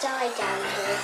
die down here.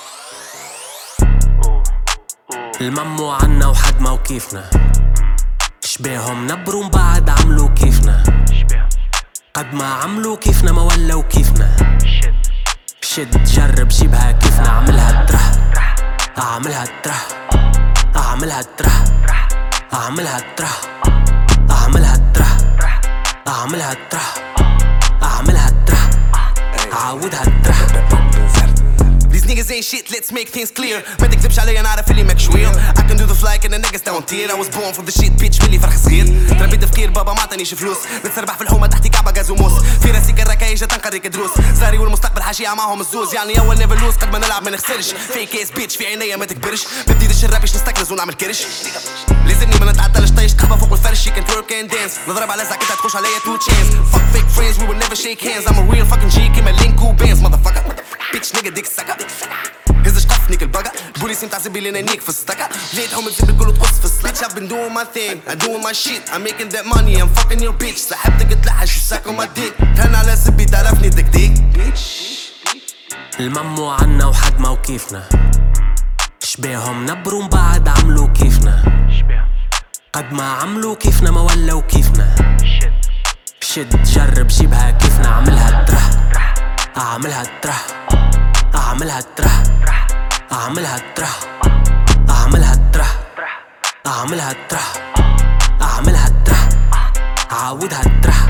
الممو عنا وحد ما وكيفنا شبيهم نبرون بعد عملوا كيفنا قد ما عملوا كيفنا ما ولوا كيفنا شد جرب جيبها كيفنا اعملها ترح اعملها ترح اعملها ترح اعملها ترح اعملها ترح اعملها ترح اعملها ترح عاودها ترح. These niggas ain't shit, let's make things clear. ما تكذبش عليا انا عارف اللي ماك شوية. I can do the fly and the niggas down tier. I was born for the shit bitch ملي فرح صغير. تربيت تفكير بابا ما عطانيش فلوس. نتسربح في الحومة تحتي كعبة غاز وموس. في راسي كالركايجة تنقريك دروس. زاري والمستقبل حاشية معهم الزوز. يعني اول نيفر لوز قد ما نلعب ما نخسرش. في كيس بيتش في عينيا ما تكبرش. بدي دش الرابش نستكرز ونعمل كرش. لازمني ما نتعدلش طيش قهوة فوق الفرش. She can twerk and dance. نضرب على زعكتها تخش عليا two chance. Fuck fake friends we will never shake hands. I'm a real fucking G كيما لينكو بانز motherfucker. Bitch nigga dick sucker. هزش قفنيك البقى البوليس متعذب لي نيك في السطكة جيتهم تزيد الكل وتقص في السلاك. I've been doing my thing, I'm doing my shit, I'm making that money, I'm fucking your bitch. سحبتك تلحش وساك on my dick. كان على سبي تعرفني دك الممو عنا وحد ما وكيفنا شبيهم نبرون بعد عملوا كيفنا قد ما عملوا كيفنا ما ولوا كيفنا شد جرب جيبها كيفنا اعملها ترح اعملها ترح اعملها ترح اعملها ترح اعملها ترح اعملها ترح اعملها ترح عاودها ترح.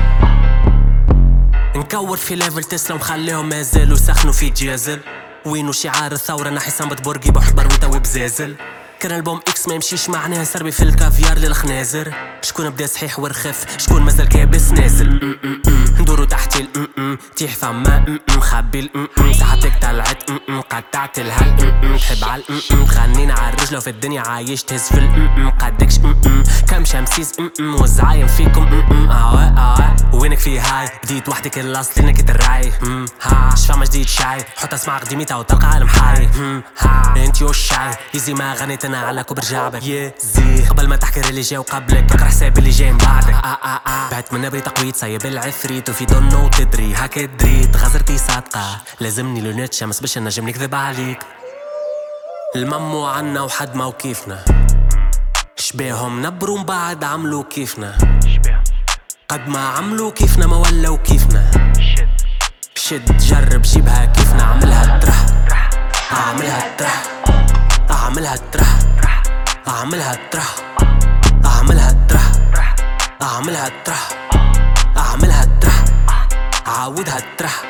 نكور في ليفل تسلا ومخليهم ما يزالوا يسخنوا في جازل. وينو شعار الثورة نحي صنبت برقي بحبر وتوي بزازل. كان البوم اكس ما يمشيش معناها سربي في الكافيار للخنازر. شكون بدا صحيح ورخف شكون مازال كابس نازل. ندورو تحت تيح ثما خبي ساعتك طلعت قطعت الهل تحب على تغنينا على الرجلة وفي الدنيا عايش تهز في قدكش كم شمسيس وزعايم فيكم وينك في هاي بديت وحدك الاصل انك تراي شفا ما جديد شاي حط اسمع قديميتها وتلقى عالم حي انت والشاي يزي ما غنيت انا على كبر جعبك يزي قبل ما تحكي اللي جاي وقبلك فكر حساب اللي جاي من بعدك بعت من نبري تقويت صايب العفريت وفي دونو وتدري هكا دريت غزرتي صادقة لازمني لونات شمس باش نجم نكذب عليك. الممو عنا وحد ما وكيفنا شبيهم نبرون بعد عملوا كيفنا قد ما عملوا كيفنا ما ولوا كيفنا شد جرب جيبها كيفنا اعملها ترح اعملها ترح اعملها ترح اعملها ترح اعملها ترح اعملها ترح اعملها ترح عاودها ترح